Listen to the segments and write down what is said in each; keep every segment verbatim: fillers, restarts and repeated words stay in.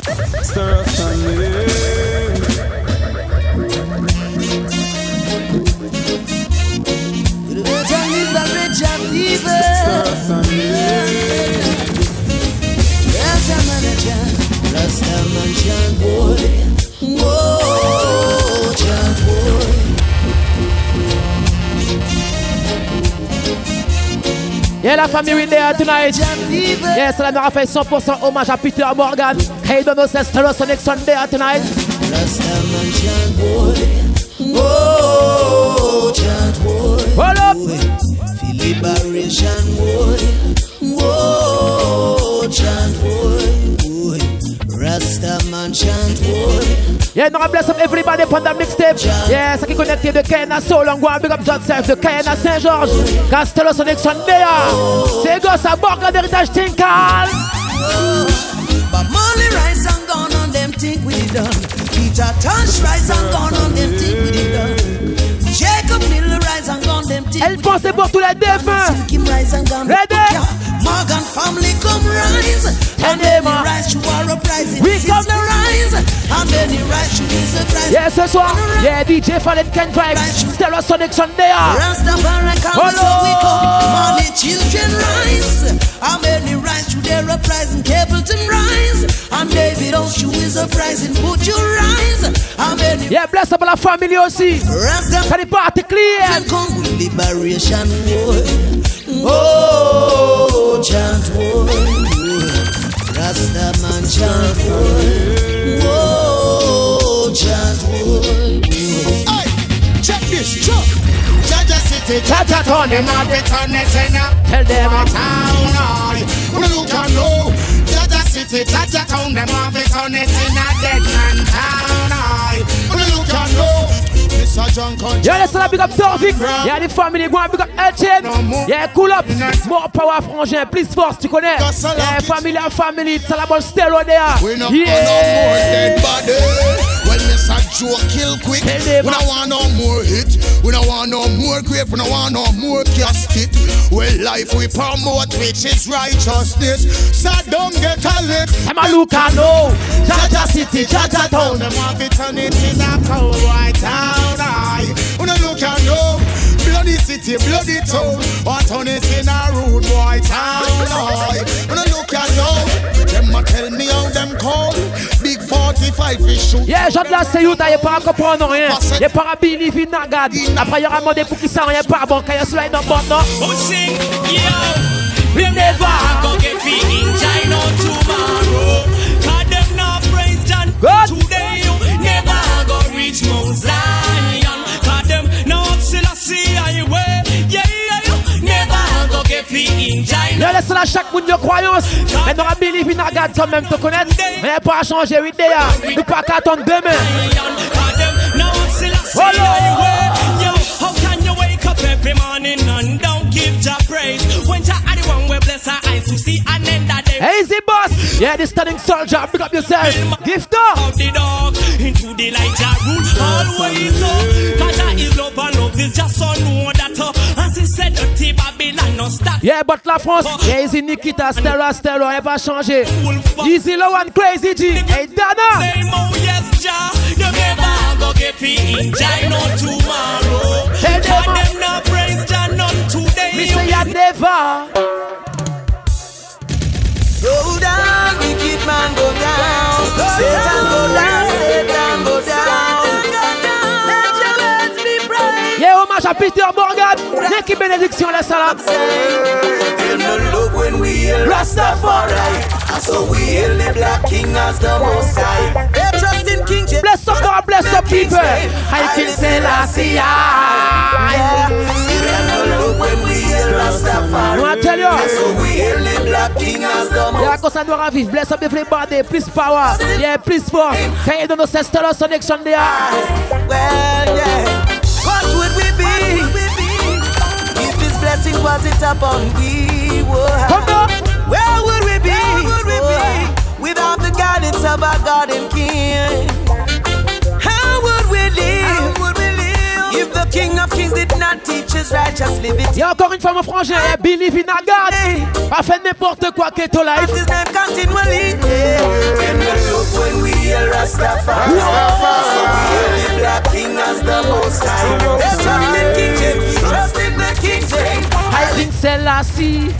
Stir us on me. Stir us on me. Rasta manager, Rasta man chant boy. Whoa, chant boy. Yeah, la famille in there tonight. Yes, la mère a fait cent pour cent hommage à Peter Morgan. Hey, don't know, c'est Stereosonic Sunday tonight. Rasta man chant boy. Whoa, chant boy. Hold up. Feel liberation boy. Whoa, chant boy. Rasta man chant boy. Yeah, no, bless up everybody upon the mixtape. Yeah, ça qui connecté de Kayana Soul, on go big up yourself de Kayana Saint-Georges. Castello Sonic Sunday. C'est go, ça borga d'héritage Tinkal. But Molly rise and gone on them think we did done. Peter Tosh rise and gone on them think we did done. Jacob Miller rise and gone them think. Elle pensait pour tous les défunts. Kim rise and gone. Ready? Morgan family come rise. And then the rise you are uprising. We come the rise. And then the rise you is a rise. Yeah, ce soir. Yeah, D J Fallen Ken Vibes. Stellar Sonic Sunday. Rastafari come so we come. Money children rise. And then the rise you there uprising. Capleton rise. And David Oshu is uprising. Put your rise. And then the yeah, bless up la famille aussi. Ça n'est pas clear. Liberation war. Oh, chant war. Rasta man chant war. Oh, chant war. Hey, check this, check. Jaja City, Jaja Town, them have it on the tenor. Tell them a town, I. Well, you can know. Jaja City, Jaja Town, them have it on the tenor. Dead man town, I. Well, you can know. Yeah, let's not big up Torvik. Yeah, the family go and big up Elchen. Yeah, cool up. More power, frangin. Please force, tu connais. Yeah, family and family. It's all about stereo there. We no yeah. want no more dead body. Well, Mister Joe kill quick. We don't want no more hit. We don't want no more grave. We don't want no more casket. Well, life we promote, which is righteousness. So don't get a lick. I'm a look I know. Jaja City, Jaja Town. Them have it on it in a cold white town. When I look and know, bloody city, bloody town, what on it in a rude boy town. When I look and know, them a tell me how them call big forty-five fish shoot. Yeah, Jean de la Seyouta, y'a pas comprendre rien. Y'a pas believe in Nagad. Après y'aura demandé pour qui ça, y'a pas bon, quand y'a cela est dans bon, non? Oh, sing, yo, we never go get free in China tomorrow. Cause them not praise John today, you never go reach Mount Zion. Cause them no Selassie highway. Yeah, yeah, you never go get free in China. Yeah, laisse là chaque monde de croyance. Mais n'aura believe in Nagad quand même te connaître. Mais pas changer idée. Nous pas qu'attendre demain. Cause them no Selassie highway. Yo, how can you wake up every morning and don't give Jah praise when Jah are the one we bless our eyes to see and end that day. Easy boss. Yeah, the standing soldier. Pick up yourself. Gift up. Out the dog into the light. Jah rule always up. Cause Jah is love and love is just so know that up. As he said, dirty Babylon no stop. Yeah, but la France. Yeah, easy Nikita, Stella, Stella, elle va changer. Easy low and crazy G. Hey Dana. Say oh yes, Jah. You never go get free in Jah no tomorrow. Tell them, Cause them no praise Jah none today. Me say ya never. Go down, wicked man, go down. Satan go down, Satan go down. Let your words be bright. Yeah, hommage à Peter Morgan. L'équipe bénédiction, la salam. Feel no love when we hail Rastafari. So we hail the Black King as the Most High. They trust in King James. Bless up God, bless up people. I can say la siya. Feel no love when we hail Rastafari. I tell you. So we hail the Black King as the Most High. Yeah, cause I know vivre. Bless up everybody. Please power. Yeah, please force. Can you do no Stellar Sonic Sunday? Well, yeah. What would we be if His blessing wasn't upon we? Come on. Where would we be, Where would we be without the guidance of our God and King? How would we live, How would we live if the King of Kings did not teach us righteous living? Il y a encore une fois mon frangin, believe in a God. Pas fait n'importe quoi que ton life. His name continually. Rastafari. So we hail the Black King as the most high. Trust in King James, trust in the King James. I think Selassie.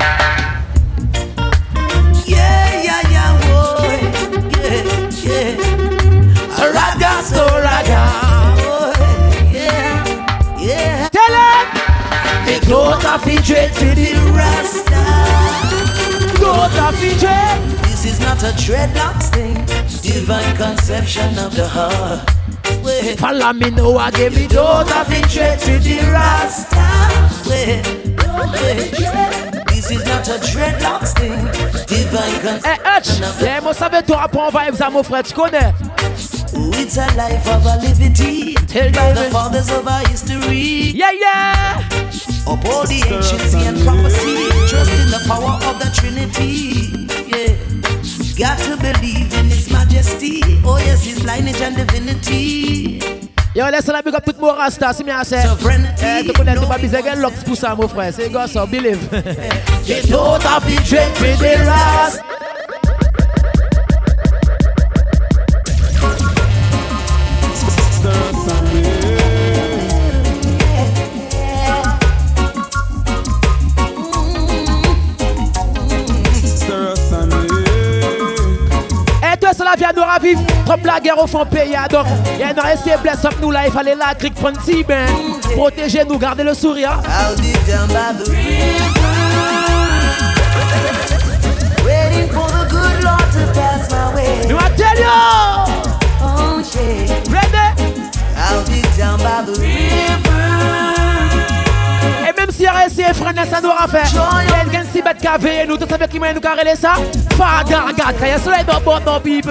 Yeah, yeah, yeah, boy. Yeah, yeah. So raga, so raga. Boy. Yeah, yeah. Tell him. The growth of the dread to the Rasta. Growth of the dread. This is not a dreadlocks thing. Divine conception of the heart. Wait. Follow me now, I give me Growth of the dread to the Rasta. Wait. Wait. This is not a dreadlocks thing. Divine Eh, Hutch, conception of the yeah, moi ça veut toi apprendre vibes à mon frère, tu connais? It's a life of a liberty. Tell By me. the fathers of our history. Yeah, yeah. Uphold the anciency and prophecy. Trust in the power of the Trinity. Yeah. Got to believe in His majesty. Oh yes, His lineage and divinity. Yo, laisse la big up tout mon rasta, si bien assez. Sovereignty. Eh, tu connais, tu vas biser quel locks pour ça, mon frère. C'est gosse, so believe. The thought of the dread with the ras. Et toi, c'est la vie à nous ravivre. Trop la guerre au fond pays. Donc, il y a un essai bless up nous là. Il fallait la crique prendre si ben. Protéger nous, garder le sourire. I'll be down by the river, waiting for the good Lord to pass my way. Nous, I tell you. Oh yeah. Ready? I'll be down by the river. Et même si il y a essayé, frère, ça nous aura fait. Il y a quelqu'un si bête qu'à veiller nous. Tu savais qui m'a nous carrer ça? Fada, regarde, quand il y a soleil dans le bon, non, bibe.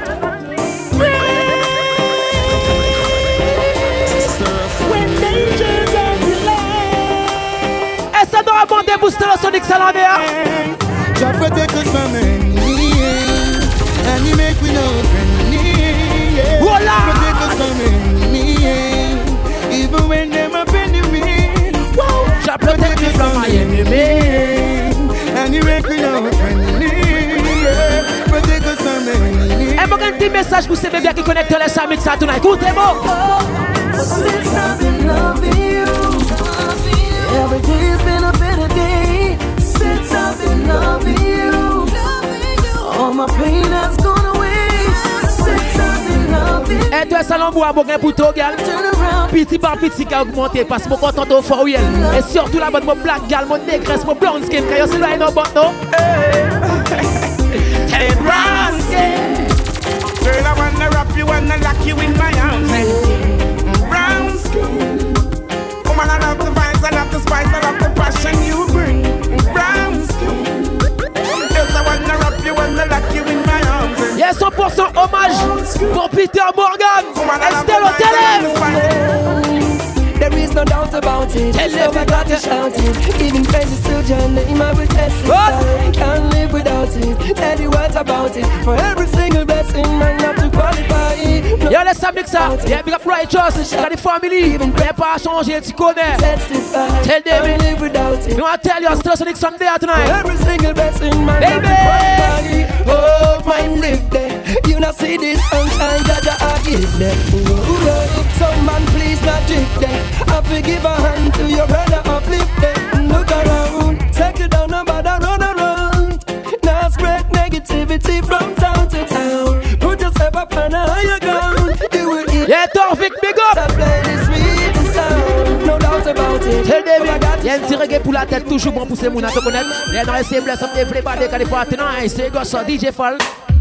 Et ça doit abonder booster le Sonic Salander. Jah protect us from enemy, and He make we no friendly. Yeah. Voila! Protect us from enemy, even when them up enemy. Wow. Jah protect me from my enemy. And He make we no friendly. Yeah. Protect us from enemy. Et moi, un petit message pour ces bébés qui connectent les Samix ça tonight. Écoutez-moi. Since I've been loving you, every day's been a better day. Since I've been loving you, all my pain has gone away. Since I've been loving you, Et toi, salon bois, bon gain pour toi, gal. turn around. Petit par petit qui a augmenté parce que mon content au fort, oui. Et surtout la bonne, mon black gal, mon négresse, mon blonde skin, quand c'est là, non, bon, non. Ten brown skin. Girl, I wanna wrap you, wanna lock you in my arms. Brown skin. Woman, I love the vibes, I love the spice, I love the passion you bring. Brown skin. Yes, I wanna wrap you, wanna lock you in my arms. Yes, cent pour cent hommage pour Peter Morgan. Estelle au télé. There is no doubt about it. Tell So them I you got got to shout it. Even praises to your name, I will testify. What? Can't live without it. Tell you what about it. For every single blessing, man, not to qualify. No, Yo, laisse ça mix ça. Yeah, big up Righteous. T'as des familles. Mais pas à changer, tu connais. testify. Tell them Can't it. live without it. You want to tell you, still Sonic Sunday tonight. Every single blessing, man, Baby. not to qualify. Oh, my live there. You not see this sunshine, Jaja, I give them. Ooh, oh, so man, please not drift there. I forgive a hand to your brother, uplift them. Look around, take it down, nobody run around. Now spread negativity from town to town. Put yourself up on a higher ground. You will eat Yeah, Torvik, big up. that play this sweet sound. No doubt about it. Tell them Oh, I it. got Y'a un petit reggae pour la tête, toujours bon pour ces mounas, te connaître. Y'a dans les C bless up, everybody, quand il faut attendre. C'est gosse, D J Fall.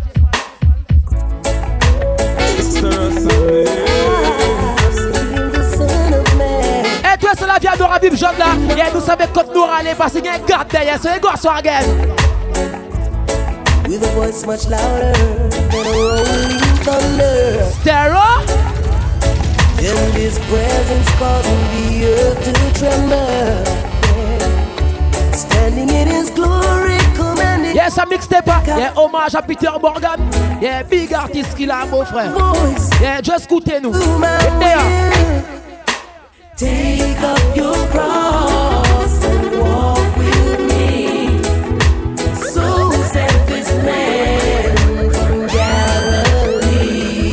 Et toi, c'est la vie à nous ravivre, John là. Et nous savons quand nous aller parce qu'il y a un gars derrière, c'est un gosse, again. With a voice much louder than a rolling thunder. Stereo. In His presence causing the earth to tremble. Standing in His glory, commanding Yes, a mixtape. Yeah, hommage à Peter Morgan. Yeah, big artist qu'il a, mon frère. voice Yeah, just écoutez-nous. to my Yeah. will. Take up your cross and walk with me. So said this man from Galilee.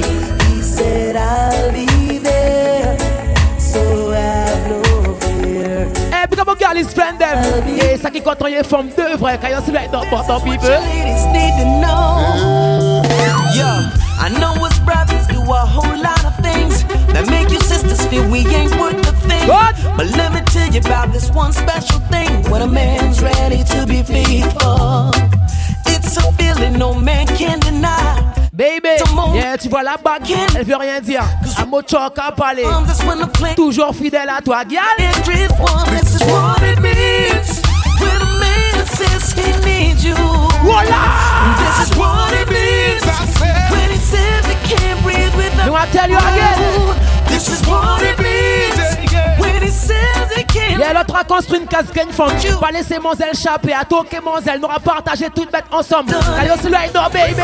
marié forme deux vrais. Quand you see like that, but some people. Ladies need to know. Yeah, I know us brothers do a whole lot of things that make you sisters feel we ain't worth the thing. What? But let me tell you about this one special thing when a man's ready to be faithful. It's a feeling no man can deny. Baby, yeah, tu vois la bague, elle veut rien dire. Un mot choc à parler. Toujours fidèle à toi, gal. This is what it means when a man says he needs you. Voila! This is what it means when he says he can't breathe without you. I tell you again. This is what it means when he says he can't. Yeah, l'autre a construit une casquette femme. Pas laisser Monzel échapper. À toi que Monzel n'aura partagé toute bête ensemble. Allez, on se l'a aidé, baby.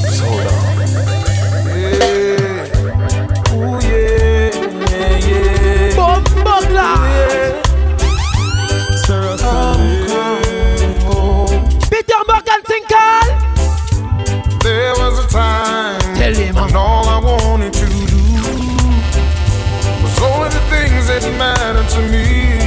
Ooh yeah, yeah, yeah. Boom, boom, là. Sarah Sunday. Peter Morgan Tinkle. There was a time Tell him. when all I wanted to do was only the things that mattered to me.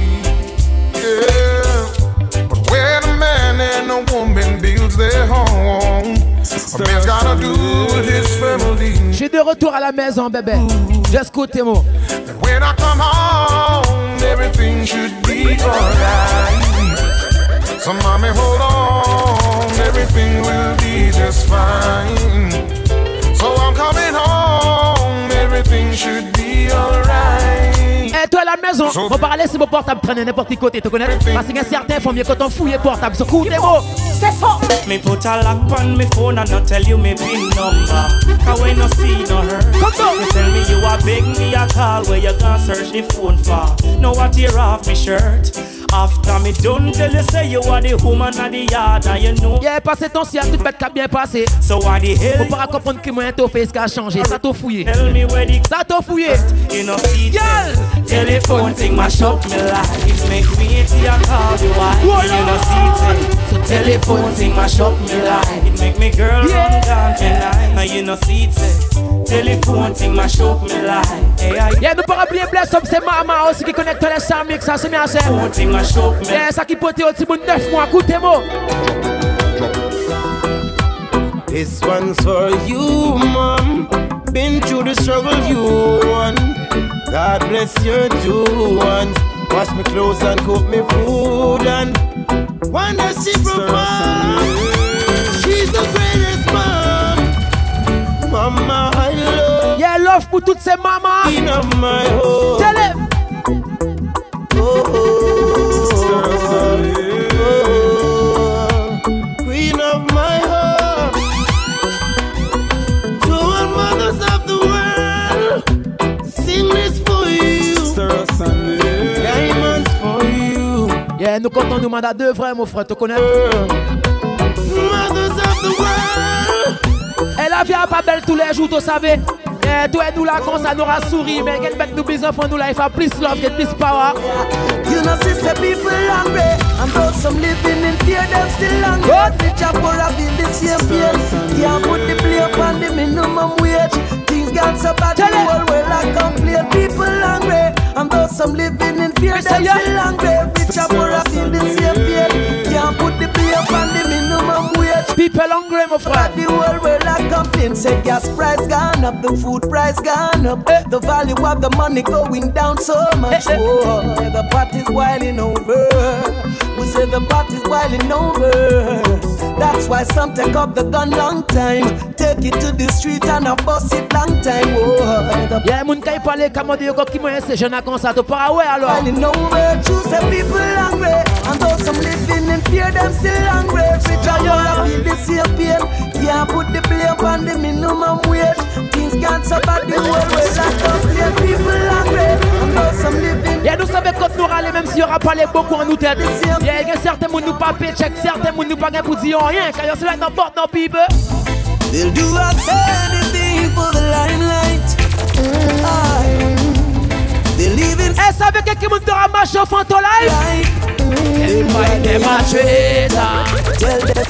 Yeah, but when a man and a woman builds their home, a man's gotta do with his family. Je suis de retour à la maison, bébé. Just côté mot. And when I come home, everything should be alright. So mommy, hold on, everything will be just fine. So I'm coming home, everything should be alright. Et toi à la maison, on va laisser mon portable traîner n'importe quel côté, tu connais? Parce qu'il y a certains font mieux quand on fouille portable. So cool, mots. C'est ça. Me put a lock on me phone and not tell you me pin number. Cause when no see no hurt, you tell me you are beg me a call where you gonna search the phone for. Know what tear off me shirt. After me done tell you say you are the woman of the yard and you know. Yeah, passé ton si à toute bête qui a bien passé. So why the hell? Faut pas comprendre que moi ton face qui a changé. Ça t'a fouillé. Tell me where the Ça t'a fouillé. you know see Girl. telephone thing mash up me life. It make me see a call the wife. You know see So telephone thing mash up me life. It make me girl Yeah. run down tonight. Now you know see telephone thing mash up me life. Hey, I Yeah, nous pas oublier Bless Up, c'est maman aussi qui connecte les cent mix, ça c'est bien ça. telephone thing mash up me. Yeah, ça qui pote au petit bout de neuf mois, écoutez moi. This one's for you, mom. Been through the struggle you won. God bless your two ones. Wash me clothes and cook me food and wonder she provide. She's the greatest mom. Mama, I love. Yeah, love pour toutes ces mamans. Queen of my home. Tell him. Oh, oh, Sarah Sunday. oh, Queen of my home. To all mothers of the world, sing this for you. Sarah Sunday. Diamonds for you. Yeah, nous comptons nous mandat deux vrais, mon frère, tu connais? Mothers of the world. Et la vie a pas belle tous les jours, tu savais? Yeah, toi et nous là, comme ça nous rassourit, mais qu'elle met nous les enfants, nous là, il faut plus love, get plus power. You know, sister, people hungry. And though some living in fear, them still hungry. Good. Rich and poor have been the same place. Can't put the blame on the minimum wage. Things got so bad, the Tell it. whole world I complain. People hungry. And though some living in fear, Me them say, yeah. still hungry. Rich and poor have been the same place. Can't put the blame on the minimum wage. People hungry, mon frère. The whole world I complain. Say gas price gone up, the food price gone up. Eh. The value of the money going down so much. Eh, eh. Oh, the pot is boiling over. We say the pot is boiling over. That's why some take up the gun long time. Take it to the street and a bust it long time. Oh, the Yeah, moun kay parle comme de yoko qui moi c'est jeune comme ça, tu pas ouais alors. boiling over. True say people hungry. And though some living in fear, them still hungry. Rich and poor have feel the same pain. Can't put the blame on the minimum wage. Things got so bad, the whole world I complain. People hungry. And though some living. Yeah, nous savons quand nous râler, même s'il y aura pas les beaucoup en nous tête. Yeah, il y a certains moun nous pas pay check, certains moun nous pas gain pour dire rien. Quand c'est là n'importe no people. They'll do anything for the limelight. Aye. They live in Eh, ça veut que quelqu'un moun te ramasse au fond ton life. life. They find them a traitor. Tell them.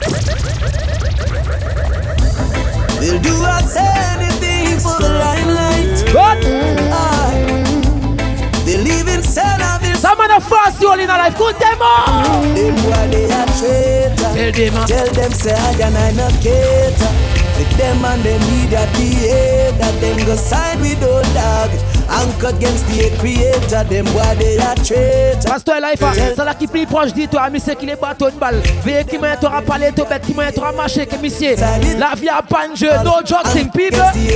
They'll do anything for the limelight. What? Aye. They live in Senavis. Some of the first see all in our life. Good demo. Them boy they a traitor. Tell them, Tell them say I and I not cater. With them and them media behave that them go side with old dog. Anchor against the creator. Them boy they a traitor. Pasteur Life, c'est là qui plus proche dit toi, monsieur qui les bateau une balle. Veille qui m'a t'aura parlé, toi bête qui m'a t'aura marché, que monsieur. La vie a pas de jeu, no joking people.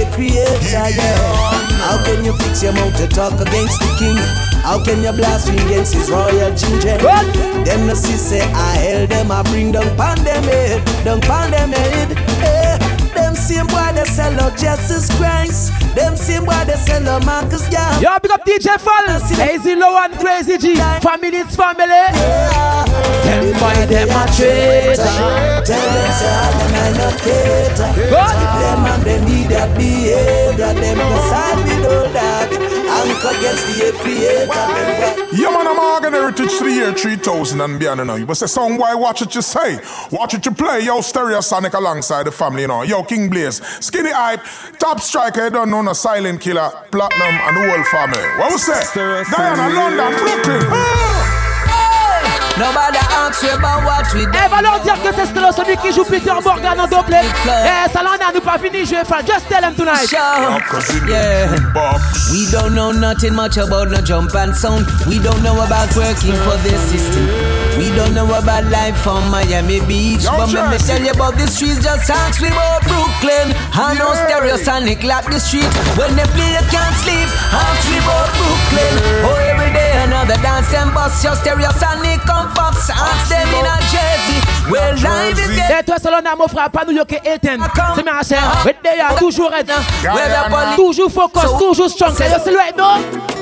How can you fix your mouth to talk against the king? How can you blaspheme against his royal children? Them no see say I held them, I bring them pan them head, them pan them head. Hey, them same boy they sell out Jesus Christ. Them same boy they sell out Marcus Garvey. Yo, big up D J Fall, Easy Low and Crazy G, Family's family. Yeah. Them boy them a traitor. Tell them say I and I not cater. Them and them need that behavior. Them go side with old dog. Anchor against the creator. Yeah, man, I'm Morgan Heritage to the year three thousand and beyond, you know. You must say, son, why watch it you say? Watch it you play. Yo, Stereosonic alongside the family, you know. Yo, King Blaze, Skinny Hype, Top Striker, you don't know, no Silent Killer, Platinum, and the whole family. What we say? Diana, London, Brooklyn. Ah! Nobody asks you about what we do. Eh, va leur dire que c'est Stella celui qui joue Peter Morgan en double. Eh, ça l'en a nous pas fini, je vais faire. Just tell him tonight. Yeah. We don't know nothing much about no jump and sound. We don't know about working for this system. We don't know about life from Miami Beach. Yo, but let me tell you about the streets. Just ask me about Brooklyn. I know Yeah. Stereosonic like the street. When they play, you can't sleep. Ask me about Brooklyn. Oh, every day another dance and bust your Stereosonic come fox. Ask them in a Jersey. Well, live is there. Et toi, ça l'en a mon frère, pas New York et Eten. C'est ma chère. Mais d'ailleurs, toujours être. Toujours focus, toujours strong. C'est le silhouette, non?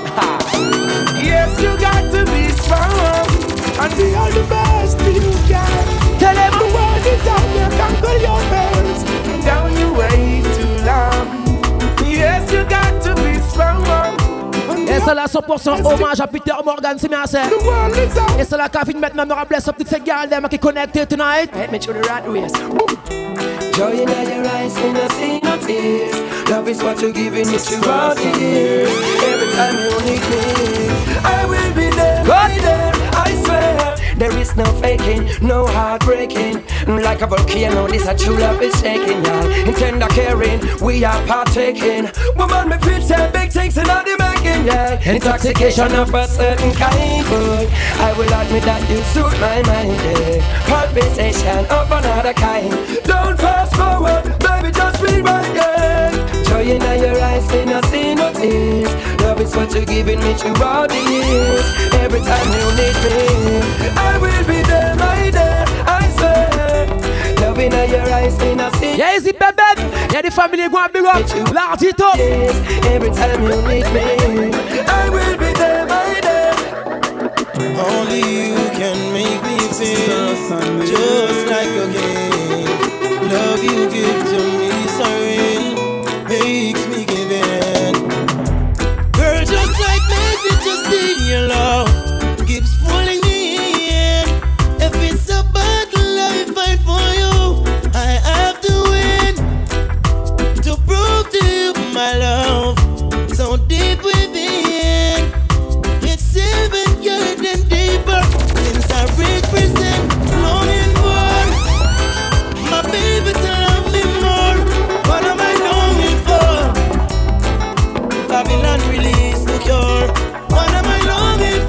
Yes, you got to be strong. And be all the best you can. Tell him. The world is down, you conquer your fears. Down your way too long. Yes, you got to be strong. Et c'est là cent pour cent hommage à Peter Morgan, c'est ma chère. The world is down. Et c'est là qu'a fait maintenant, me bless up toutes ces gars qui connectent tonight. Hit me through the rat race. Joy in your eyes, in the sea, no tears. Love is what you're giving me throughout the years. Every time you need me, I will be there, right there, I swear. There is no faking, no heartbreaking. Like a volcano, this a true love is shaking, yeah. In tender caring, we are partaking. Woman, me feel say big things in all the making, yeah. Intoxication of a certain kind, boy. I will admit that you suit my mind, yeah. Palpitation of another kind. Don't fast forward, baby, just rewind, yeah. Joy in your eyes, me not see no tears. Love is what you're giving me throughout the years. Every time you need me, I will be there, my dear, I swear. Love in your eyes, me not see. Yeah, easy, baby. Y'a des familles qui ont un big up. L'Ardito. Every time you need me, I will be there, my dear. Only you can make me feel just like a game. Love you give to me, sorry, makes me give in. Girl, just like me, just in your love keeps pulling me in. If it's a battle I fight for you, I have to win to prove to you my love so deep within. It's even getting deeper since I represent longing for my baby to love me more. What am I longing for? Babylon release the cure. What am I longing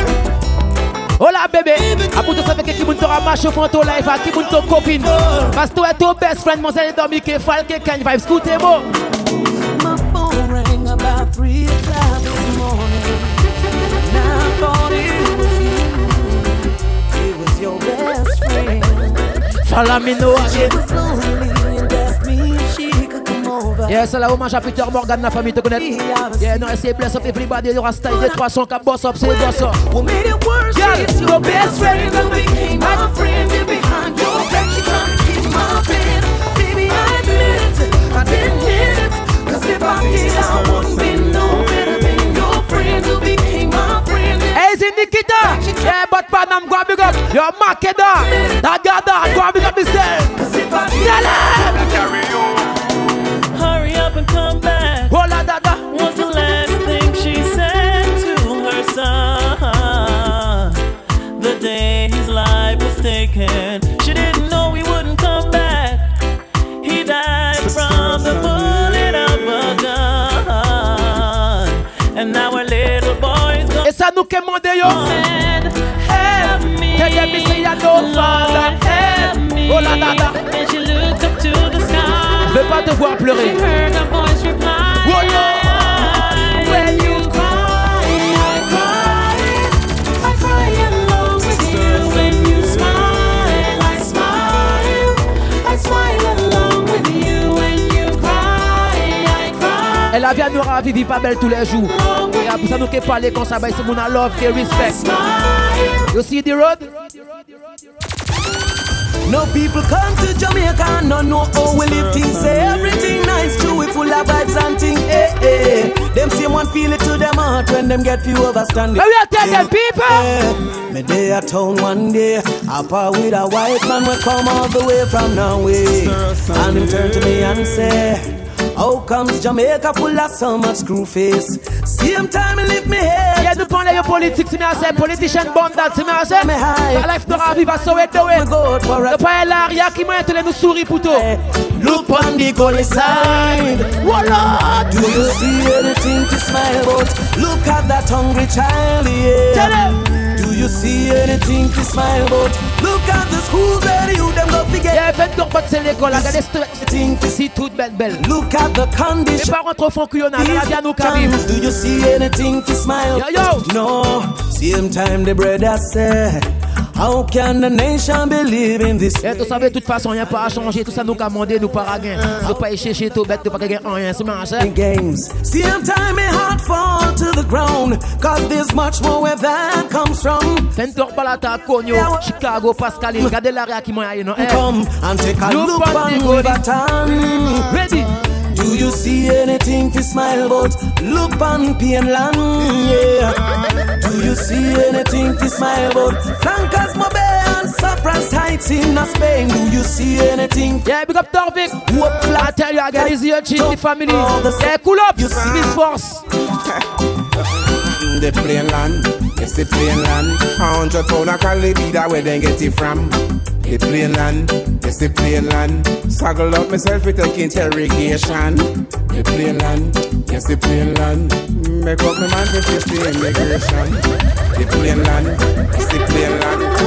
for? Hola bébé, à pour tout ça avec qui moun t'aura marché au fond ton life, à qui moun ton copine. Parce que toi et ton best friend, mon zèle dormi qui est falke, can vibes, écoutez-moi. My phone rang about three o'clock this morning. Now I thought it was you. It was your best friend. Follow me now She again. was lonely and asked me if she could come over. Yeah, c'est là hommage à Peter Morgan, la famille te connaît. Yeah, non, c'est bless up everybody, il y aura style des trois cents qui boss up, c'est le boss up. What made it worse Girl, is your best friend who became my friend. And behind your back she trying to keep my bed. Baby, I admit it, I didn't hit it. Cause if I did, I wouldn't be no better than your friend who became my friend. Hey, c'est Nikita. Yeah, but Panam, go and big up. Yo, Makeda. That guy there, go and big up yourself. Cause if I did, Tell him. Hurry up and come back. Hola, dada. Was the last thing she said to her son. from the bullet of a gun. And now our little boys go. Et ça nous commande yo. Help me, Tell them me say I know father. help me. Oh la la la. And she looked up to the sky. Je veux pas te voir pleurer. She heard a voice reply. Oh Lord, when you cry, I cry. I cry along with you. When you smile, I smile. I smile along with you. When you cry, I cry. Elle a bien nous raviver pas belle tous les jours. Et après ça nous qui parler comme ça, bah c'est mon love et respect. You see the road? No people come to Jamaica and no know how we live things. Say everything nice, true, we full of vibes and things. Eh, eh. Them same one feel it to them heart when them get few overstanding. But we are telling them people. Eh, me day at town one day, I part with a white man we come all the way from Norway. And him turn to me and say, how comes Jamaica full of so much screw face? Same time he lift me head. Yeah, nous parlons de politique, c'est bien assez. Politician bomb that, c'est bien assez. La life n'aura viva so it do it. Le pas là, y'a qui m'a tous nous souris pour toi. Look on the gully side. Voila. Do you see anything to smile about? Look at that hungry child, yeah. Tell him. Do you see anything to smile about? Look at the schools where you them go forget. Yeah, vingt-deux potes c'est l'école, regardez c'est toute belle belle. Look at the condition. Les parents trop font qu'il y en a, la vie à nous carrives. Do you see anything to smile? Yo yo. No, same time the brother said, how can the nation believe in this? Et tu savais, de toute façon, il n'y a pas à changer. Tout ça, nous commandé, nous pas à gain. Nous pas chercher tout bête, nous pas gagner rien. C'est marrant, ça. Games. Same time, my heart fall to the ground. Cause there's much more where that comes from. Fentor Balata, Konyo, Chicago, Pascaline. Regardez l'arrière qui m'a eu, non? Come and take a look on Riverton. Ready? Do you see anything to smile about? Look on Pienland, yeah. Do you see anything to smile about? Flankers, Mobay and Saffron's Heights in Spain. Do you see anything? Yeah, big up Torvik. I tell you again, it's your chief, the family. Yeah, cool up. You see this force. The plain land, it's the plain land. A hundred pound of calibre, that where they get it from. The plain land, it's the plain land. Saggle up myself with a interrogation. The plain land, it's the plain land. Make up my man for fifty immigration. The plain land, it's the plain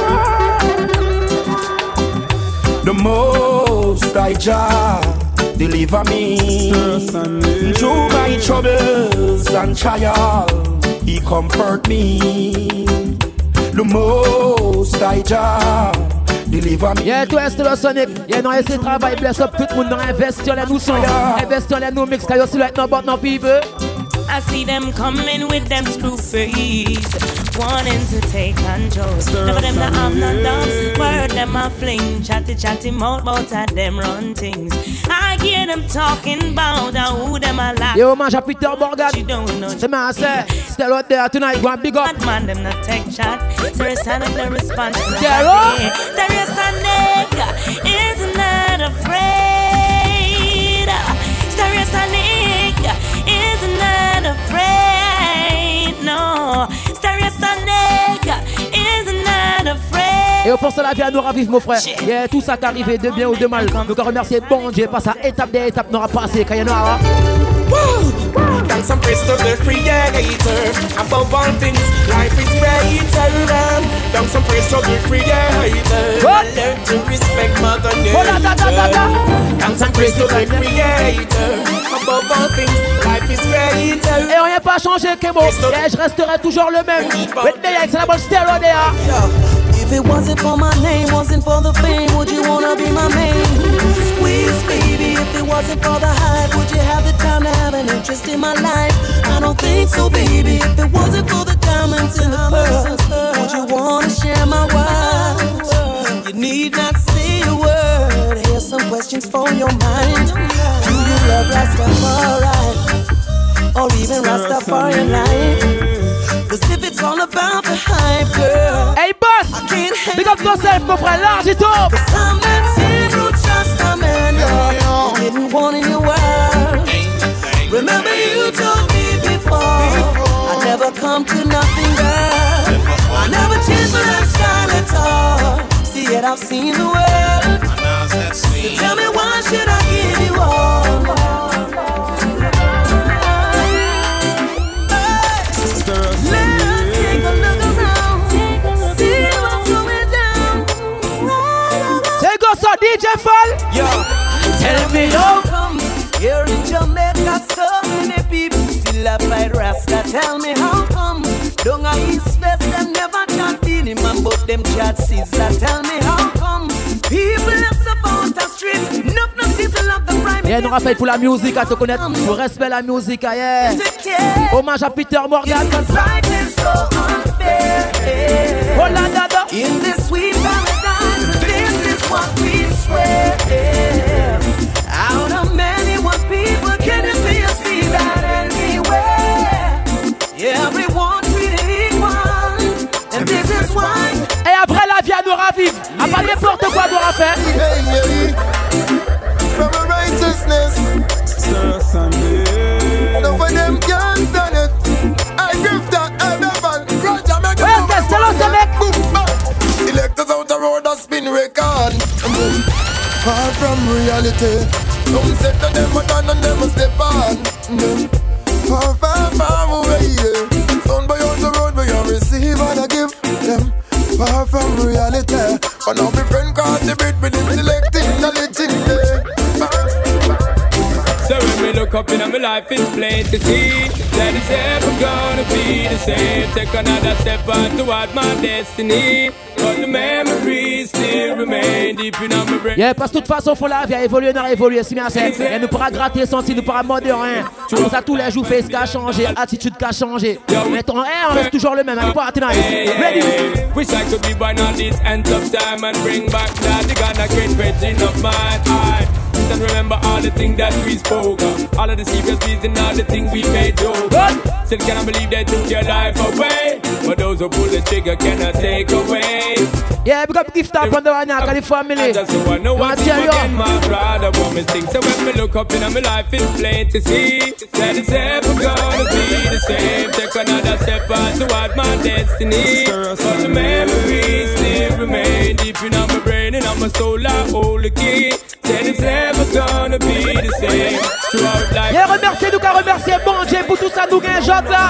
land. The most I Jah deliver me through my troubles and trials. He comfort me. The most I Jah deliver me. Yeah, tout est le Sonic. Yeah, non, essayer de travailler, bless up tout le monde, investir les nous sons, investir les nous mix, car you see like no but no people. I see them coming with them screw face, wanting to take control. Never them that I'm not done. Word them a fling, chatty chatty mouth, mouth at them run things. I hear them talking about who them a like. Yo, man, Peter Morgan. C'est ma c'est still out there tonight. Go and big up. Man, them not take shot. Serious and the response. Zero. Serious and nigga is not afraid. Serious and nigga is not afraid. No. Serious and nigga is not afraid. Et au force la vie à nous ravivre, mon frère. Il y a tout ça qui arrive de bien ou de mal. Donc, on remercie bon Dieu. Passe à étape des étapes, n'aura pas passé. Quand il y en a. Thanks and praise to the Creator. Above all things, life is greater. Thanks and praise to the Creator. Learn to respect Mother Nature. Thanks and praise to the Creator. Above all things, life is greater. Et rien pas changé, Kemo. Et je resterai toujours le même. With the X, la bonne stéréo there. If it wasn't for my name, wasn't for the fame, would you wanna be my main? Squeeze, baby, if it wasn't for the hype, would you have the time to have an interest in my life? I don't think so, baby. If it wasn't for the diamonds and the pearls, would you wanna share my world? You need not say a word. Here's some questions for your mind. Do you love Rastafari? Or even Rastafari life? Cause if it's all about the hype, girl, hey boss, big up yourself, mon frère, large et top. Cause some men say you trust a man, you didn't want in your world. Remember you told me before, I never come to nothing, girl. I never changed my lifestyle at all. See it, I've seen the world. So tell me why should I give you all? me. How come here in Jamaica so many people still a fight Rasta? Tell me how come down a East West them never chat Beenie Man but them chat Sizzla? Tell me how come people are support the street, not no people of the prime. Yeah, nous rappelle pour la musique à te connaître, pour respect la musique, yeah. Hommage à Peter Morgan. Oh la da da. In this sweet paradise, this is what we swear. Out of many one people, can you see, you see that anywhere? Everyone treated equal, and this is why. Et après la vie à nous ravive. À pas n'importe quoi nous faire. From a righteousness, no for them can't done it. I give that I never. Roger, make it. Where's the Celosa make? Selectors out the road that spin record. Far from reality. Some said that them are done and them a step on. Far, far, far away. Sound by on the road where you receive and I give them. Far from reality. But now my friend caught the bit with him selecting knowledge in there. So when we look up in my life, it's plain to see that it's ever gonna be the same. Take another step on toward my destiny, but the memories still remain deep in my brain. Yeah, parce que de toute façon, faut la vie à évoluer, n'a évolué, si bien c'est. Et nous pourra gratter, sentir, nous pourra mode rien. Tout ça, tous les jours, face qu'a changé, attitude qu'a changé. Mais ton air, on reste toujours le même, elle pas atteindre. Ready? Wish I could be born on this end of time and bring back that the Ghana great virgin of mine. I and remember all the things that we spoke of, all of the secret reasons and all the things we made joke. Still cannot believe they took your life away, but those who pull the trigger cannot take away. Yeah, big up gift up on the one now, the family. Just so I know what's again, my brother want me think. So when me look up in my life, it's plain to see that it's ever gonna be the same. Take another step on toward my destiny, but the memories still remain deep in my brain and on my soul. I hold the key. Said it's never gonna be the same throughout life. Et remerciez nous qu'à remercier bon Dieu pour tout ça nous gagne job là.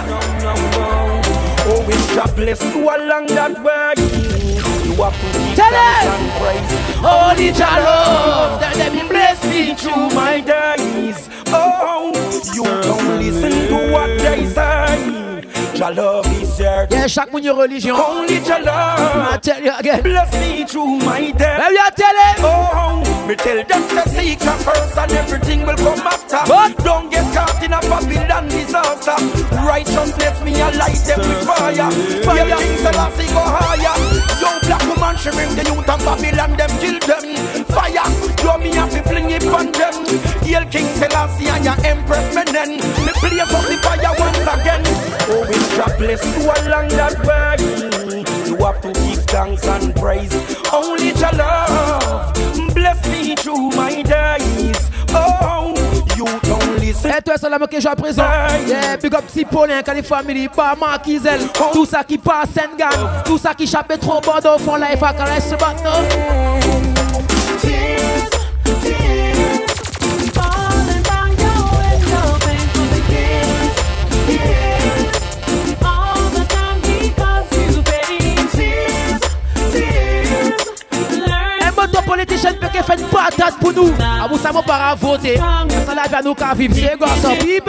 Oh, we God bless you along that way. You have to give Tell thanks it. and praise. Holy Jah love, that them bless me Through my days, oh, you don't listen to what they say. Jah love is there. Yeah, chaque moun yon religion. Only Jah love. I tell you again. Bless me through my days. Baby, I tell it. Oh, me tell them to seek her first and everything will come after. What? Don't get caught in a Babylon disaster. Righteousness me a light them with fire. Fire King Selassie go higher. Young black woman she bring the youth of Babylon them kill them. Fire, do me have to fling it on them. Hail King Selassie and your Empress Menen. Me blaze up the fire once again. Oh, we God bless you along that way. You have to give thanks and praise. Only Jah love. Bless me through my days. Oh, you don't listen. Et toi, c'est la que je à présent. Yeah, big up si Paulin, quand les familles, pas Marquizel. Tout ça qui passe Sengan. Tout ça qui chape trop bon au fond là, il faut qu'on laisse se battre. Tears, tears, falling down your window, painful tears, tears, all the time because you paid. Tears, tears, learn. Un moto politicien peut que faire une patate pour nous. Ah, vous savez pas à voter. Ça la vie à nous qu'à vivre. C'est quoi ça, Bible?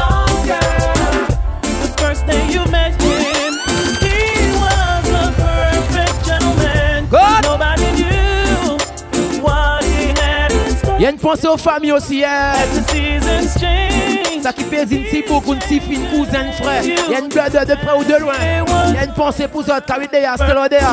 The first day you met him, he was a perfect gentleman. Good. Nobody knew what he had in store. Il y a une pensée aux familles aussi, hein. The seasons change. Ça qui pèse une petite beaucoup, une petite fine, cousin, frère. Il y a une blood de près ou de loin. Il y a une pensée pour ça, t'as vu déjà, c'était là déjà.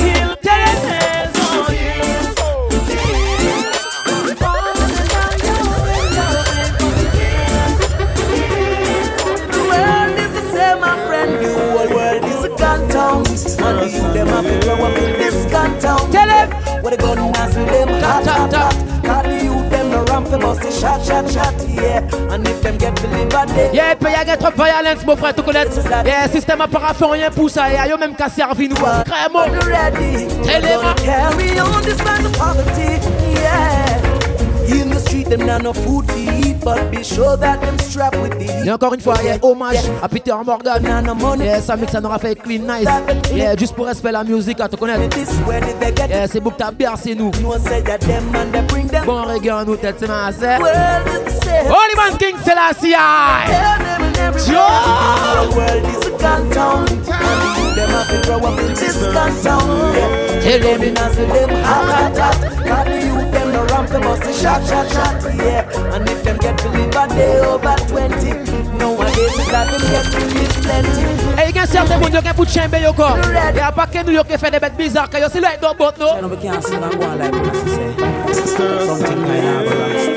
And you them have to grow up in this canton. Tell him. Where the gun has them hot, hot, hot. Call the youth them the ramp for bust the shot, shot, shot, yeah. And if them get to live a day. Yeah, il peut y avoir trop de violence, mon frère, tu connais. Yeah, système a pas fait rien pour ça. Et yo même qu'à servir nous. Vraiment. Ready. Tell him. Carry on this man of poverty, yeah. In the street, them not no food to eat, but be sure that them strapped with the heat. Et encore une fois, yeah, hommage yeah. à Peter Morgan. Yeah, ça mix, ça nous a fait clean nice. Yeah, juste pour respect la musique, à te connaître. Yeah, c'est beau que t'as bercé nous. Bon reggae en nous, tête, c'est ma sœur. Holy Man King Selassie. Joe! The world is a gun town, and them have to grow up in this gun town. Tell them in as them hot, hot, hot. Got the youth them no ramp, them must shot, shot, shot. Yeah, and if them get to live a day over twenty, nowadays it's that them get to live plenty. Et il y a certains gens qui ont put chamber yo corps. Et à part que nous qui fait des bêtes bizarres, que yo c'est like no boat no. No, we can't sing and go on like what I say. Something kind of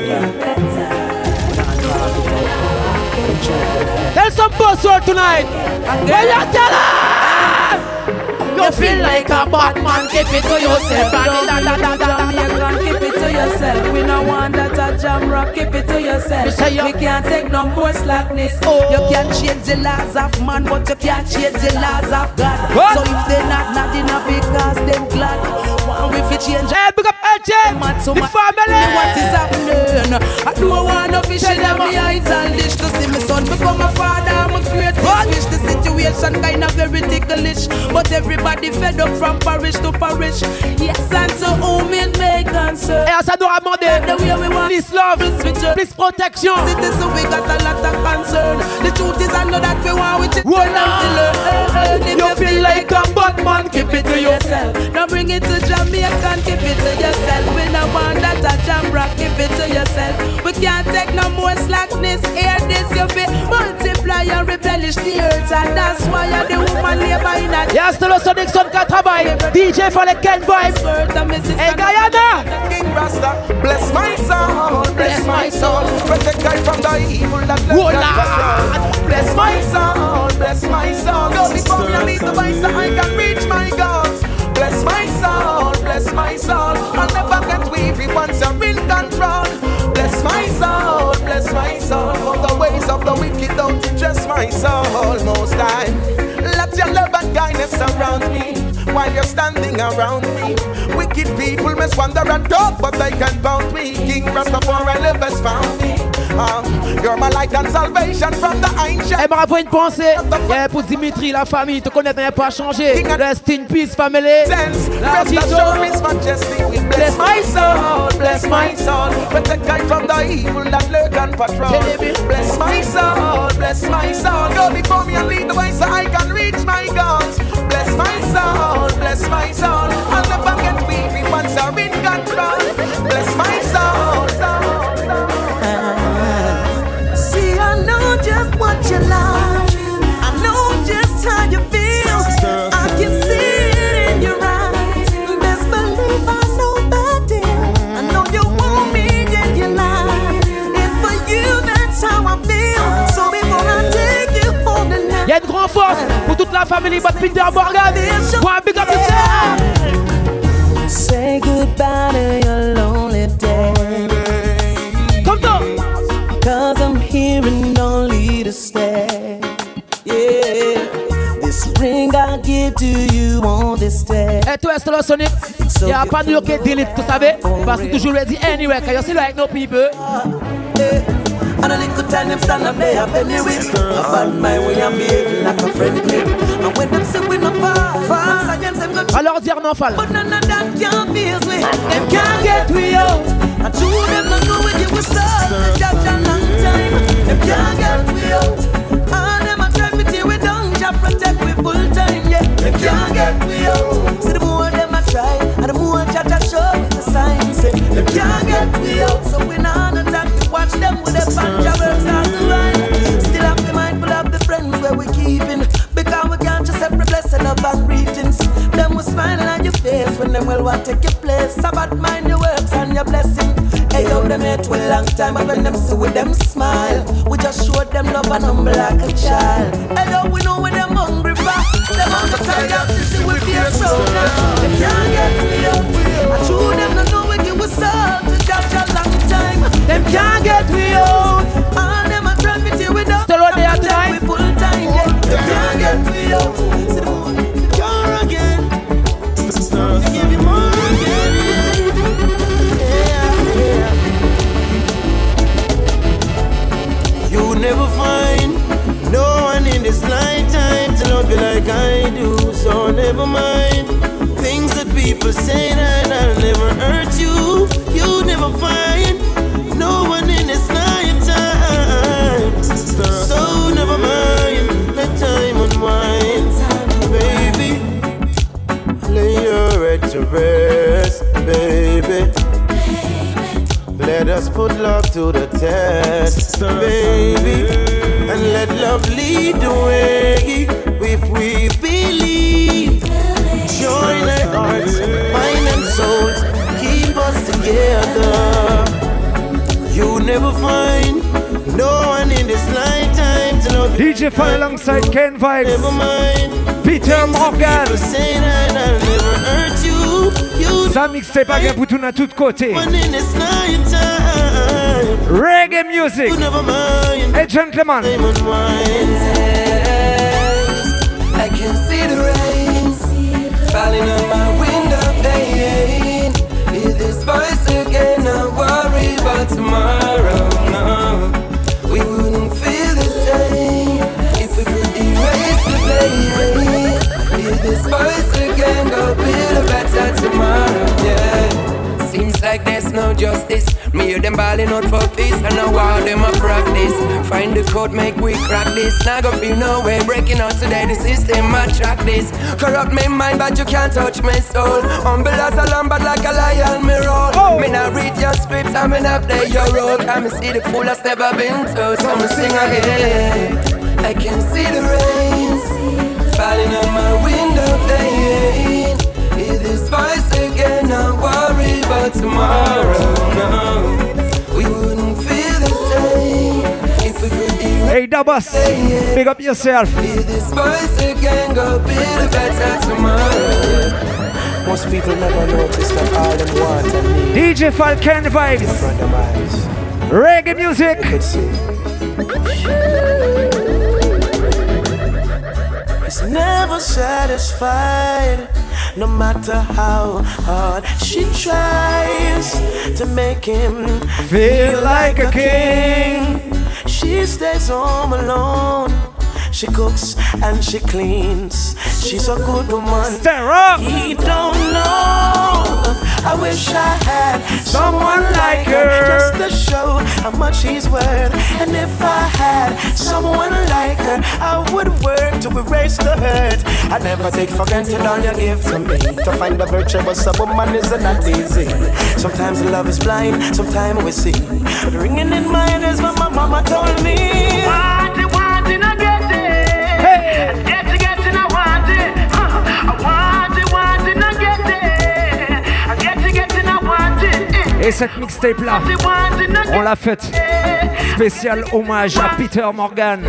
tell some boss world tonight. Where you tell her? You feel like a Batman, keep it to yourself. Keep it to yourself. We no want that a jam rock. Keep it to yourself. We can't take no more slackness. Oh. You can't change the laws of man, but you can't change the laws of God. What? So if they not not enough, because them glad. One we fi change. Hey, big up L J, the family. What is happening? I don't want no fish in my eyes and dish to see my son become a father. I'm a great wish. The situation kind of very ticklish, but everybody fed up from parish to parish. Yes, and to whom it may concern. Et ça doit demander please love, please protection. So we got a lot of concern. The truth is I know that we want with it. You feel like a Batman, keep it to yourself. Now bring it to Jamaica, keep it to yourself. We no want that a jam rock, keep it to yourself. We can't take no more slackness. Hear this, you feel multiply and replenish the earth, and that's why you're the woman labor in a. Yes, the Sonic Son qui travaille. D J for the Ken Vibe. Hey Guyana. King Rasta, bless my soul, bless my soul. Protect guy from the evil that left. Bless my soul, bless my soul. Go before me and lead the way so I can reach my goals. Bless my soul, bless my soul. I'll never get weary once you're in control. Bless my soul, bless my soul. For the ways of the wicked don't interest my soul. Most time, let your love and kindness surround me while you're standing around me. Wicked people must wander and talk, but they can't bound me. King Rastafari live has found me. Um, you're my light and salvation from the ancient. Eh, bravo, une pensée. Yeah, pour Dimitri, la famille, te connaît, n'a pas changé. Rest in peace, family. Bless my soul, bless my soul. Protect guy from the evil that lurk and patrol. Bless my soul, bless my soul. Go before me and lead the way so I can reach my goals. Bless my soul, bless my soul. I'll never get weary once I'm in control. Bless my soul, soul, soul. See, I know just what you like. I know just how you feel. I can see it in your eyes. Best believe I know that deal. I know you want me, yet you lie. And for you, that's how I feel. So before I take you home tonight. Y'a une grande force pour toute la famille, but Peter Morgan. One big up yourself. Say goodbye to your lonely day. Come on. Cause I'm here and only to stay. Yeah. This ring I give to you on this day. Et toi, c'est le Sonic. Y'a pas de qui delete, tu savais? Parce que toujours ready anyway, cause you see like no people. And a little time them stand up there up anyway. A bad mind when I'm behaving like a friendly. And when them say we no fall, fall, against them go. Alors dire non fall. But none of that can't be as way. Them can't get me out. And two of them not know when you will start. That's a long time. Them can't get me out. And them a try me till we done. Just protect we full time. Yeah. Them can't get me out. See the more them a try, and the more chat a show with the signs. Say them can't get me out. So we not attack. Watch them with their banja works on the line. Still have to be mindful of the friends where we keeping, because we can't just every blessing of our greetings. Them was smiling on your face when them will want to take your place. About mind your works and your blessing. Hey yo, them here to a long time, and when them see with them smile, we just show them love and humble like a child. Hey yo, we know when them hungry for, them on the tired to see we fear so now. They can't get me up. I true them to know we give us all to judge a long time. Them can't get me out. All them a try me till we don't. Still on there tonight. We full time, yeah. Them can't get me out. See the more, you're again. They give you more again. Yeah, yeah. like I do, so never mind. Things that people say that I'll never hurt you. You never find no one in this lifetime. So never mind, let time unwind. Baby, lay your head to rest, baby. Let us put love to the test, baby. And let love lead the way. If we believe, join our hearts, mind and souls, keep us together. You never find no one in this lifetime to love. D J Fun alongside Ken Vibes. Never mind. Peter Morgan. People say that I'll never hurt you. You Ça mixtape again pour tout à tout côté. one in this lifetime. Reggae music. You never mind. Hey gentlemen. I can see the rain falling on my window pane. Hear this voice again, not worry about tomorrow. No, we wouldn't feel the same if we could erase the pain. Hear this voice again, go build a better tomorrow. Yeah, seems like there's no justice. Me hear them balling out for peace, and now all them a practice. Find the code, make we crack this. Now go feel no way breaking out today. The system attract this. Corrupt me mind, but you can't touch my soul. Humble as a lamb, but like a lion, me roll. Oh. Me not read your script, I me not play your role. I me see the fool that's never been told, so me sing again. I can see the rain falling on my window pane. Hear this voice again, not worry about tomorrow. No, we wouldn't feel the same if we could erase. Hey Dabas, big up yourself. Hear this voice again, go build a better tomorrow. Most people never notice that all them want and need. D J Falcon Vibes. In front of my eyes. Reggae music. You could see. It's never satisfied, no matter how hard she tries to make him Feel like a king. She stays home alone. She cooks and she cleans. She's a good woman. Stir up. He don't know. I wish I had someone like her, just to show how much he's worth. And if I had someone like her, I would work to erase the hurt. I never take for granted all you give to me. To find a virtuous a woman is not easy. Sometimes love is blind, sometimes we see. But ringing in my ears is what my mama told me. Want it, want it, I get it. Hey. Get it, get it, I want it. Huh. I want it, want it, I get it. I get it, get it, I want it. Et cette mixtape là, on l'a faite. Spécial hommage à Peter Morgan.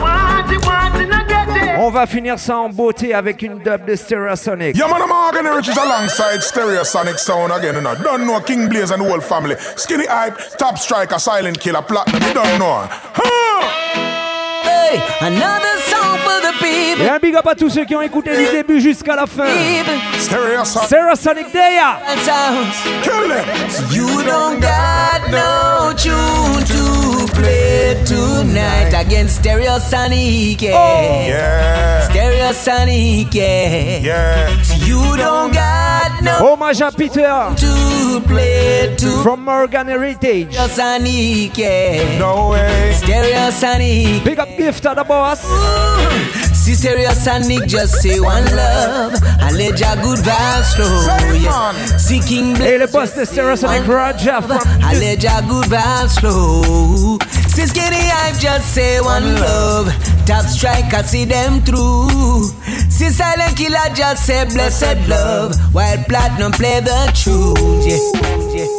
On va finir ça en beauté avec une dub de Stereosonic. Yeah, man, I'm Morgan Riches alongside Stereosonic Sound again. You know. Don't know King Blaze and the whole family. Skinny Hype, Top Striker, Silent Killer, Platinum. You don't know. Huh. Hey, another song for the people. Et un big up à tous ceux qui ont écouté du début jusqu'à la fin. Stereosonic. Stereosonic Daya. Kill them. You don't got no tune to play tonight against Stereosonic. Yeah. Oh. Yeah. Stereosonic. Yeah. Yeah. You don't got no hommage à Peter to play to from Morgan Heritage. Stereosonic. Yeah. No way. Stereosonic. Big up gift to the boss. See Stereosonic, just say one love and let your good vibes flow. Yeah. See King Blaze, et le boss de Stereosonic Raja from and let your good vibes flow. See Skinny Hype, just say one love. Top Striker, see them through. See Silent Killer, just say blessed love. While Platinum play the truth. Yeah. Yeah.